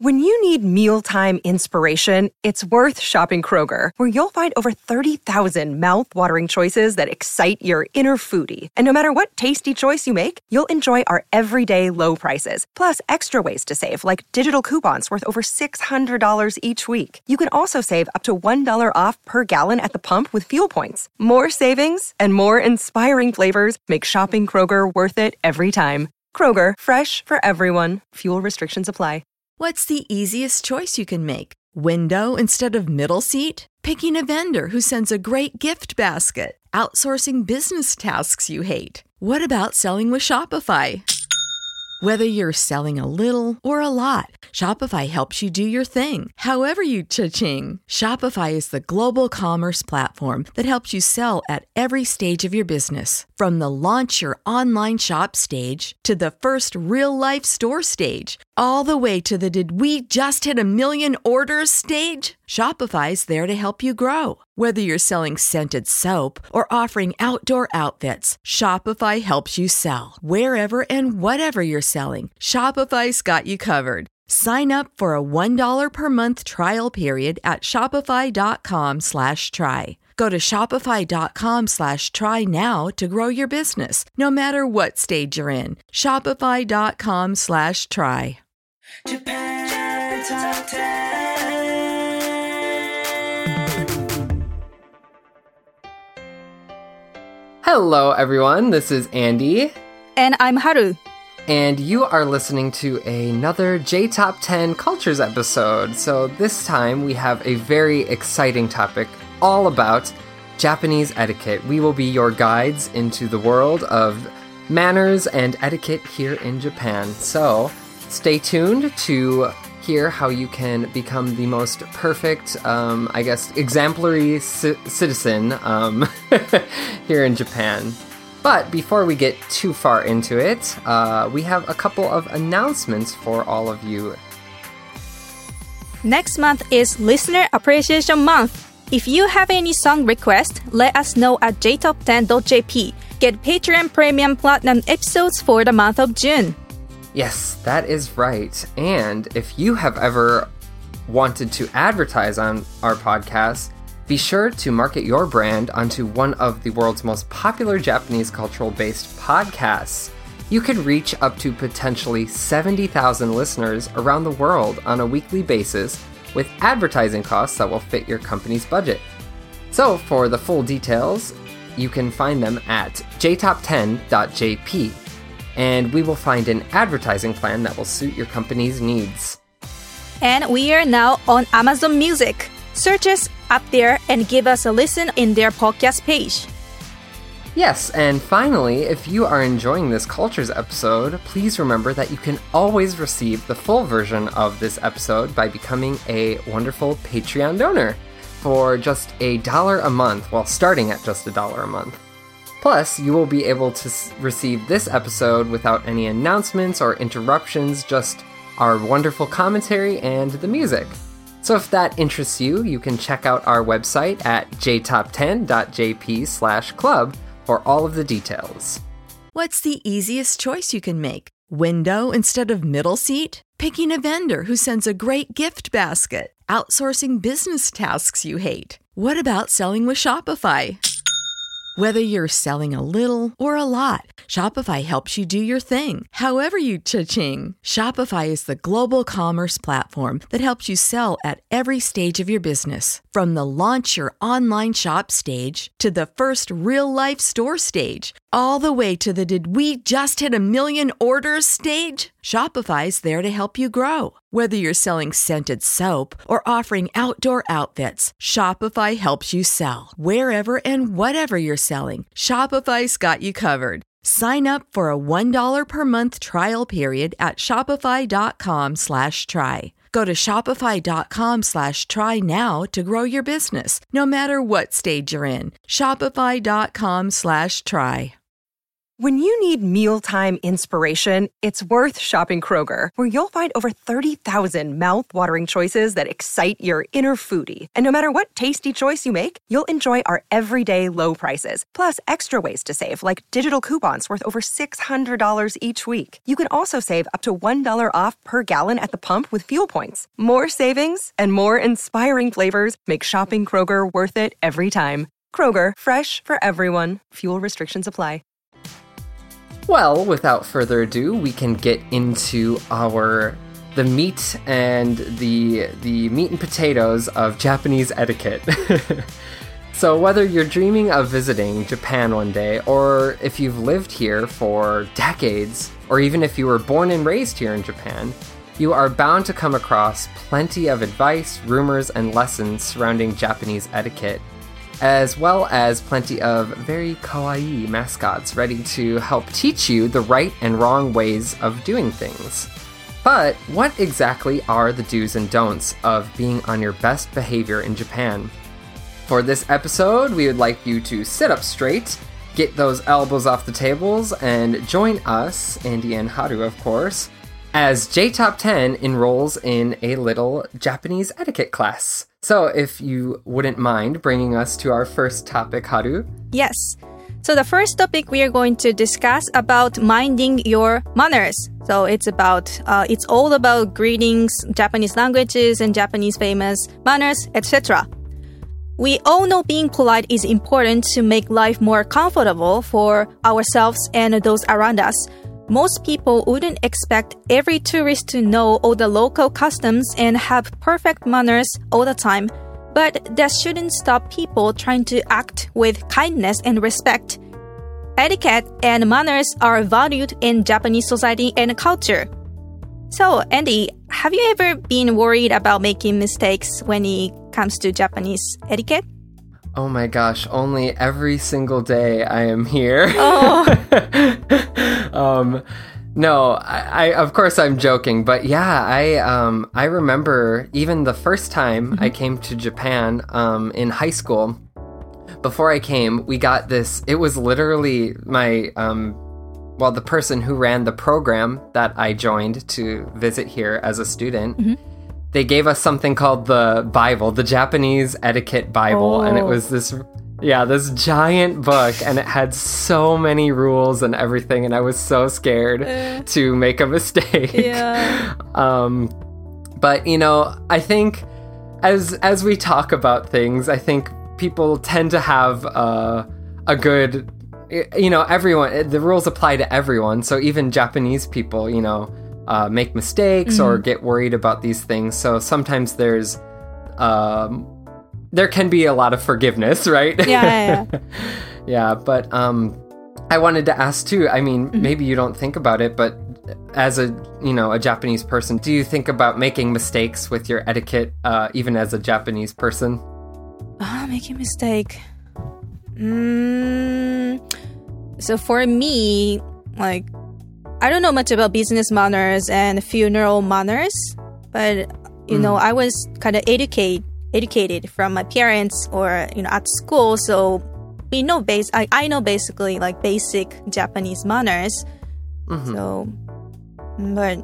When you need mealtime inspiration, it's worth shopping Kroger, where you'll find over 30,000 mouth-watering choices that excite your inner foodie. And no matter what tasty choice you make, you'll enjoy our everyday low prices, plus extra ways to save, like digital coupons worth over $600 each week. You can also save up to $1 off per gallon at the pump with fuel points. More savings and more inspiring flavors make shopping Kroger worth it every time. Kroger, fresh for everyone. Fuel restrictions apply. What's the easiest choice you can make? Window instead of middle seat? Picking a vendor who sends a great gift basket? Outsourcing business tasks you hate? What about selling with Shopify? Whether you're selling a little or a lot, Shopify helps you do your thing, however you cha-ching. Shopify is the global commerce platform that helps you sell at every stage of your business. From the launch your online shop stage to the first real-life store stage, all the way to the did we just hit a million orders stage? Shopify's there to help you grow. Whether you're selling scented soap or offering outdoor outfits, Shopify helps you sell. Wherever and whatever you're selling, Shopify's got you covered. Sign up for a $1 per month trial period at shopify.com/try. Go to shopify.com/try now to grow your business, no matter what stage you're in. Shopify.com/try. Japan Top 10. Hello, everyone. This is Andy. And I'm Haru. And you are listening to another J-Top 10 Cultures episode. So this time we have a very exciting topic all about Japanese etiquette. We will be your guides into the world of manners and etiquette here in Japan. So stay tuned to hear how you can become the most perfect, exemplary citizen here in Japan. But before we get too far into it, we have a couple of announcements for all of you. Next month is Listener Appreciation Month. If you have any song requests, let us know at jtop10.jp. Get Patreon Premium Platinum episodes for the month of June. Yes, that is right. And if you have ever wanted to advertise on our podcast, be sure to market your brand onto one of the world's most popular Japanese cultural-based podcasts. You could reach up to potentially 70,000 listeners around the world on a weekly basis with advertising costs that will fit your company's budget. So for the full details, you can find them at jtop10.jp. And we will find an advertising plan that will suit your company's needs. And we are now on Amazon Music. Search us up there and give us a listen in their podcast page. Yes, and finally, if you are enjoying this Cultures episode, please remember that you can always receive the full version of this episode by becoming a wonderful Patreon donor for just $1 a month, well, starting at just $1 a month. Plus, you will be able to receive this episode without any announcements or interruptions, just our wonderful commentary and the music. So if that interests you, you can check out our website at jtop10.jp/club for all of the details. What's the easiest choice you can make? Window instead of middle seat? Picking a vendor who sends a great gift basket? Outsourcing business tasks you hate? What about selling with Shopify? Whether you're selling a little or a lot, Shopify helps you do your thing, however you cha-ching. Shopify is the global commerce platform that helps you sell at every stage of your business. From the launch your online shop stage to the first real-life store stage, all the way to the did we just hit a million orders stage? Shopify's there to help you grow. Whether you're selling scented soap or offering outdoor outfits, Shopify helps you sell. Wherever and whatever you're selling, Shopify's got you covered. Sign up for a $1 per month trial period at shopify.com/try. Go to shopify.com/try now to grow your business, no matter what stage you're in. Shopify.com/try. When you need mealtime inspiration, it's worth shopping Kroger, where you'll find over 30,000 mouth-watering choices that excite your inner foodie. And no matter what tasty choice you make, you'll enjoy our everyday low prices, plus extra ways to save, like digital coupons worth over $600 each week. You can also save up to $1 off per gallon at the pump with fuel points. More savings and more inspiring flavors make shopping Kroger worth it every time. Kroger, fresh for everyone. Fuel restrictions apply. Well, without further ado, we can get into the meat and the meat and potatoes of Japanese etiquette. So whether you're dreaming of visiting Japan one day, or if you've lived here for decades, or even if you were born and raised here in Japan, you are bound to come across plenty of advice, rumors, and lessons surrounding Japanese etiquette, as well as plenty of very kawaii mascots ready to help teach you the right and wrong ways of doing things. But what exactly are the do's and don'ts of being on your best behavior in Japan? For this episode, we would like you to sit up straight, get those elbows off the tables, and join us, Andy and Haru of course, as J-Top 10 enrolls in a little Japanese etiquette class. So if you wouldn't mind bringing us to our first topic, Haru. Yes. So the first topic we are going to discuss about minding your manners. So it's all about greetings, Japanese languages, and Japanese famous manners, etc. We all know being polite is important to make life more comfortable for ourselves and those around us. Most people wouldn't expect every tourist to know all the local customs and have perfect manners all the time, but that shouldn't stop people trying to act with kindness and respect. Etiquette and manners are valued in Japanese society and culture. So, Andy, have you ever been worried about making mistakes when it comes to Japanese etiquette? Oh my gosh, only every single day I am here. Oh. No, I of course I'm joking, but yeah, I remember even the first time I came to Japan in high school. Before I came, we got this, it was literally my, the person who ran the program that I joined to visit here as a student, they gave us something called the Bible, the Japanese Etiquette Bible, and it was this giant book, and it had so many rules and everything, and I was so scared to make a mistake. Yeah. But, you know, I think as we talk about things, I think people tend to have a good, you know, everyone, the rules apply to everyone, so even Japanese people, you know, make mistakes or get worried about these things. So sometimes there can be a lot of forgiveness, right? Yeah. Yeah, but I wanted to ask too, I mean, maybe you don't think about it, but as a Japanese person, do you think about making mistakes with your etiquette, even as a Japanese person? Making mistake. So for me, like, I don't know much about business manners and funeral manners, but, you know, I was kind of educated from my parents or, you know, at school. So we know I know basically like basic Japanese manners. So, but,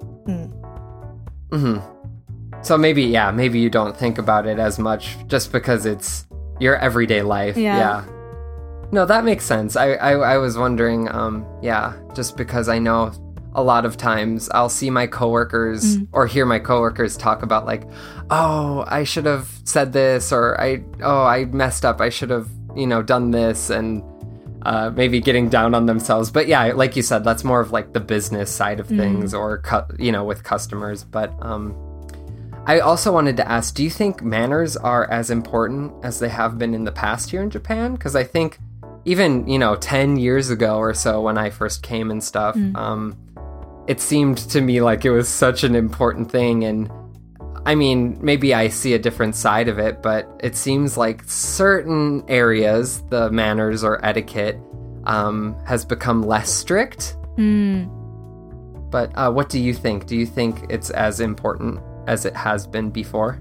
So maybe you don't think about it as much just because it's your everyday life. Yeah. No, that makes sense. I was wondering, just because I know a lot of times I'll see my coworkers or hear my coworkers talk about like, oh, I should have said this, or I messed up. I should have, you know, done this, and maybe getting down on themselves. But yeah, like you said, that's more of like the business side of things, or with customers. But I also wanted to ask, do you think manners are as important as they have been in the past here in Japan? Because I think even, 10 years ago or so when I first came and stuff, it seemed to me like it was such an important thing. And I mean, maybe I see a different side of it, but it seems like certain areas, the manners or etiquette, has become less strict. But what do you think? Do you think it's as important as it has been before?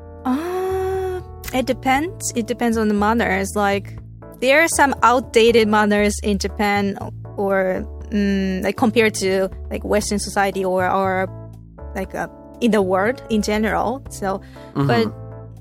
It depends. It depends on the manners. Like, there are some outdated manners in Japan or like compared to like Western society or like in the world in general. So, but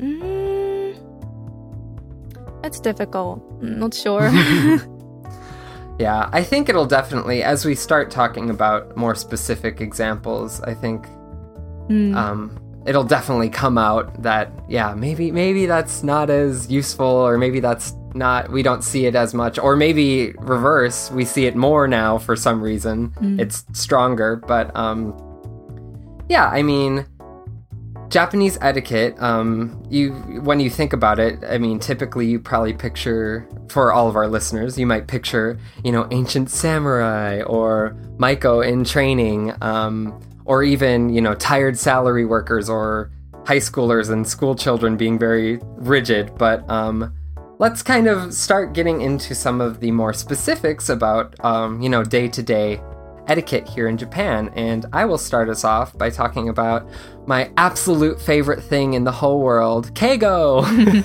that's difficult. I'm not sure. Yeah, I think it'll definitely, as we start talking about more specific examples, I think it'll definitely come out that, yeah, maybe that's not as useful, or maybe that's not, we don't see it as much, or maybe reverse, we see it more now for some reason. It's stronger, but yeah, I mean, Japanese etiquette, when you think about it, I mean, typically you probably picture, for all of our listeners, you might picture, ancient samurai or Maiko in training, or even, tired salary workers or high schoolers and school children being very rigid. But let's kind of start getting into some of the more specifics about, day-to-day etiquette here in Japan. And I will start us off by talking about my absolute favorite thing in the whole world, keigo.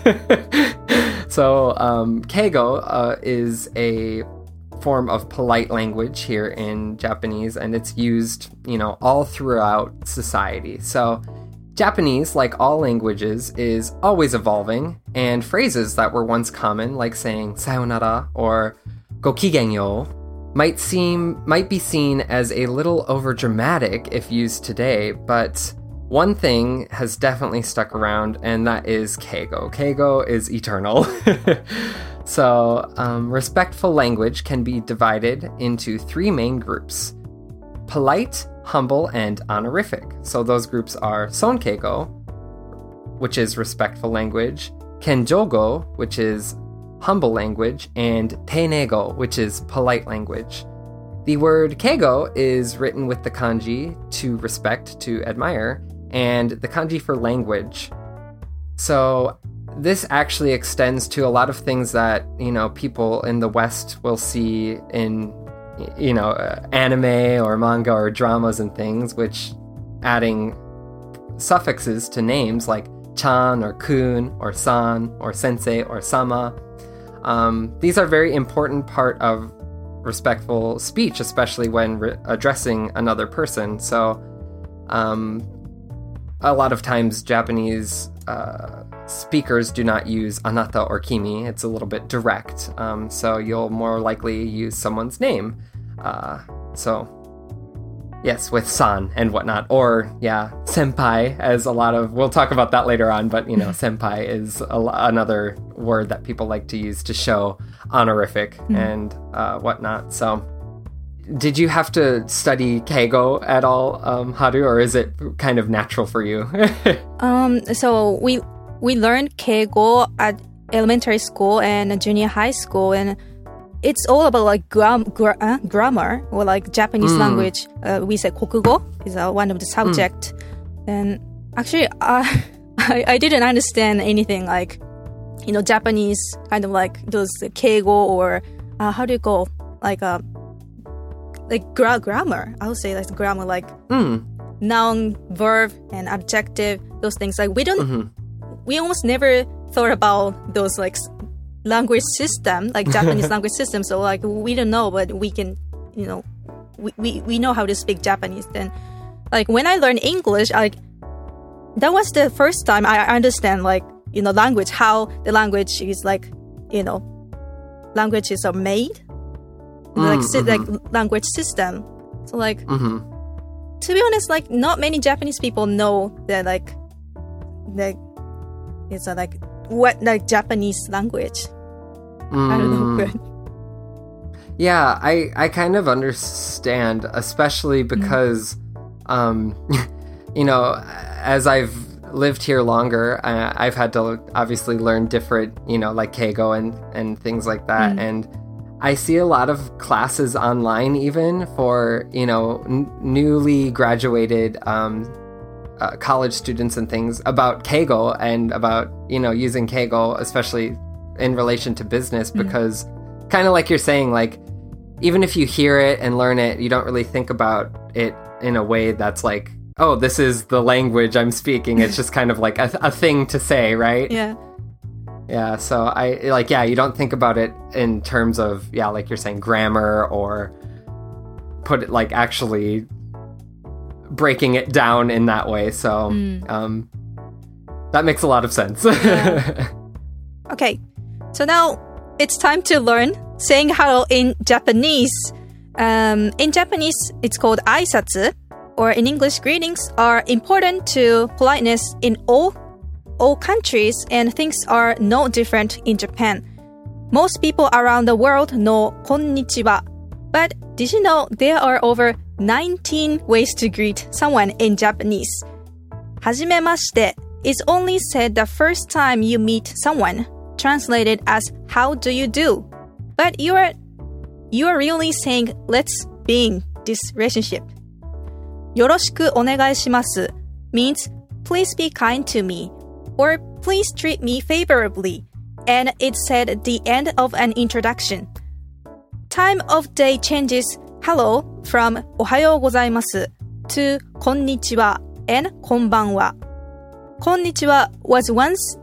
So keigo is a form of polite language here in Japanese, and it's used, all throughout society. So Japanese, like all languages, is always evolving, and phrases that were once common, like saying sayonara or gokigenyo, might be seen as a little overdramatic if used today, but one thing has definitely stuck around, and that is keigo. Keigo is eternal. So, respectful language can be divided into three main groups: polite, humble, and honorific. So those groups are sonkeigo, which is respectful language, kenjogo, which is humble language, and teinego, which is polite language. The word keigo is written with the kanji to respect, to admire, and the kanji for language. So this actually extends to a lot of things that, people in the West will see in, anime or manga or dramas and things, which adding suffixes to names like chan or kun or san or sensei or sama. These are very important part of respectful speech, especially when addressing another person. So a lot of times Japanese speakers do not use anata or kimi. It's a little bit direct. So you'll more likely use someone's name. So yes, with san and whatnot. Or senpai, as a lot of, we'll talk about that later on, but senpai is another word that people like to use to show honorific and whatnot. So did you have to study keigo at all, Haru, or is it kind of natural for you? So we learned keigo at elementary school and junior high school, and it's all about like grammar or like Japanese language. We say kokugo is one of the subject. And actually, I didn't understand anything like, Japanese kind of like those keigo or how do you call grammar. I would say that's grammar, like noun, verb, and adjective. Those things like we don't. We almost never thought about those like language system, like Japanese language system. So like we don't know, but we can, we know how to speak Japanese. Then, like when I learned English, like that was the first time I understand like language, how the language is like, languages are made, like language system. So like to be honest, like not many Japanese people know that like it's like what like Japanese language. I don't know. Good. Yeah, I kind of understand, especially because as I've lived here longer, I've had to obviously learn different, like keigo and things like that. And I see a lot of classes online even for, newly graduated college students and things about keigo and about, using keigo, especially in relation to business, because kind of like you're saying, like, even if you hear it and learn it, you don't really think about it in a way that's like, oh, this is the language I'm speaking. It's just kind of like a thing to say, right? Yeah. Yeah, so you don't think about it in terms of, like you're saying, grammar or put it like actually breaking it down in that way. So that makes a lot of sense. Okay, so now it's time to learn saying hello in Japanese. In Japanese, it's called aisatsu, or in English, greetings are important to politeness in all countries, and things are no different in Japan. Most people around the world know konnichiwa, but did you know there are over 19 ways to greet someone in Japanese? Hajimemashite is only said the first time you meet someone, translated as how do you do? But you are really saying let's begin this relationship. Yoroshiku onegai shimasu means please be kind to me or please treat me favorably, and it's said at the end of an introduction. Time of day changes hello from ohayou gozaimasu to konnichiwa and konbanwa. Konnichiwa was once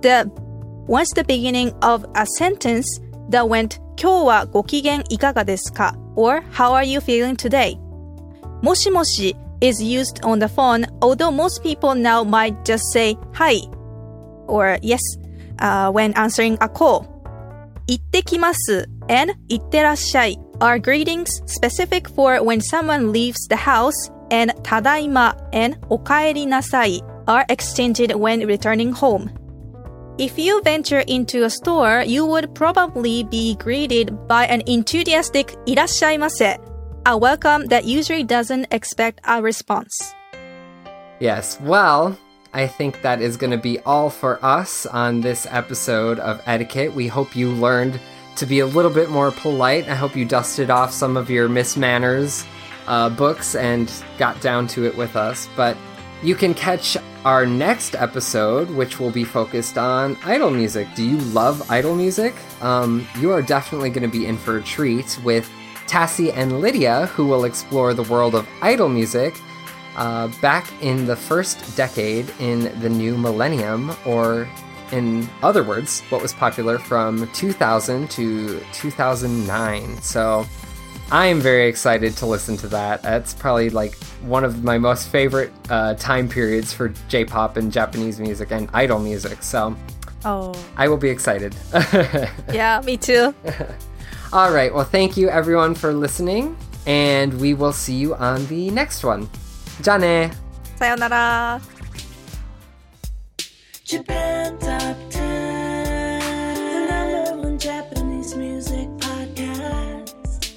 the beginning of a sentence that went 今日はご機嫌いかがですか? or how are you feeling today? Moshimoshi is used on the phone, although most people now might just say hi or yes when answering a call. Ittekimasu and itterashai are greetings specific for when someone leaves the house, and tadaima and okaeri nasai are exchanged when returning home. If you venture into a store, you would probably be greeted by an enthusiastic irashaimase, a welcome that usually doesn't expect a response. Yes, well, I think that is going to be all for us on this episode of Etiquette. We hope you learned to be a little bit more polite. I hope you dusted off some of your Miss Manners books and got down to it with us. But you can catch our next episode, which will be focused on idol music. Do you love idol music? You are definitely going to be in for a treat with Tassie and Lydia, who will explore the world of idol music back in the first decade in the new millennium, or in other words, what was popular from 2000 to 2009. So I am very excited to listen to that. That's probably like one of my most favorite time periods for J-pop and Japanese music and idol music. So I will be excited. Yeah, me too. All right. Well, thank you everyone for listening, and we will see you on the next one. じゃあね. Sayonara. Japan Top 10, the #1 Japanese music podcast.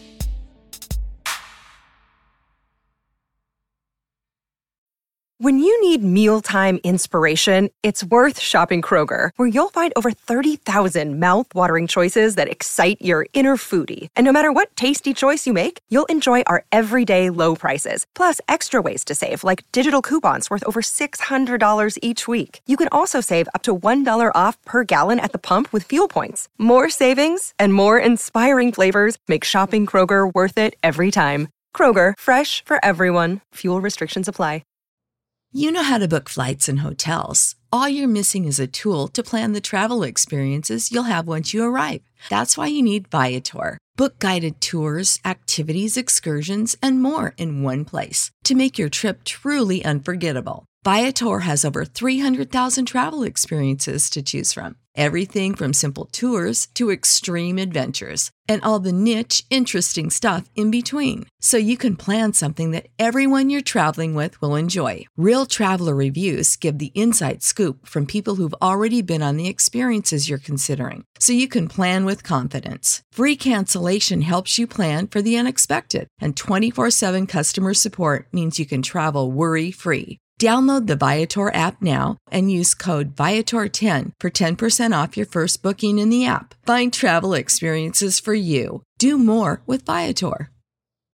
When you need mealtime inspiration, it's worth shopping Kroger, where you'll find over 30,000 mouth-watering choices that excite your inner foodie. And no matter what tasty choice you make, you'll enjoy our everyday low prices, plus extra ways to save, like digital coupons worth over $600 each week. You can also save up to $1 off per gallon at the pump with fuel points. More savings and more inspiring flavors make shopping Kroger worth it every time. Kroger, fresh for everyone. Fuel restrictions apply. You know how to book flights and hotels. All you're missing is a tool to plan the travel experiences you'll have once you arrive. That's why you need Viator. Book guided tours, activities, excursions, and more in one place to make your trip truly unforgettable. Viator has over 300,000 travel experiences to choose from. Everything from simple tours to extreme adventures, and all the niche, interesting stuff in between. So you can plan something that everyone you're traveling with will enjoy. Real traveler reviews give the inside scoop from people who've already been on the experiences you're considering. So you can plan with confidence. Free cancellation helps you plan for the unexpected. And 24/7 customer support means you can travel worry-free. Download the Viator app now and use code Viator10 for 10% off your first booking in the app. Find travel experiences for you. Do more with Viator.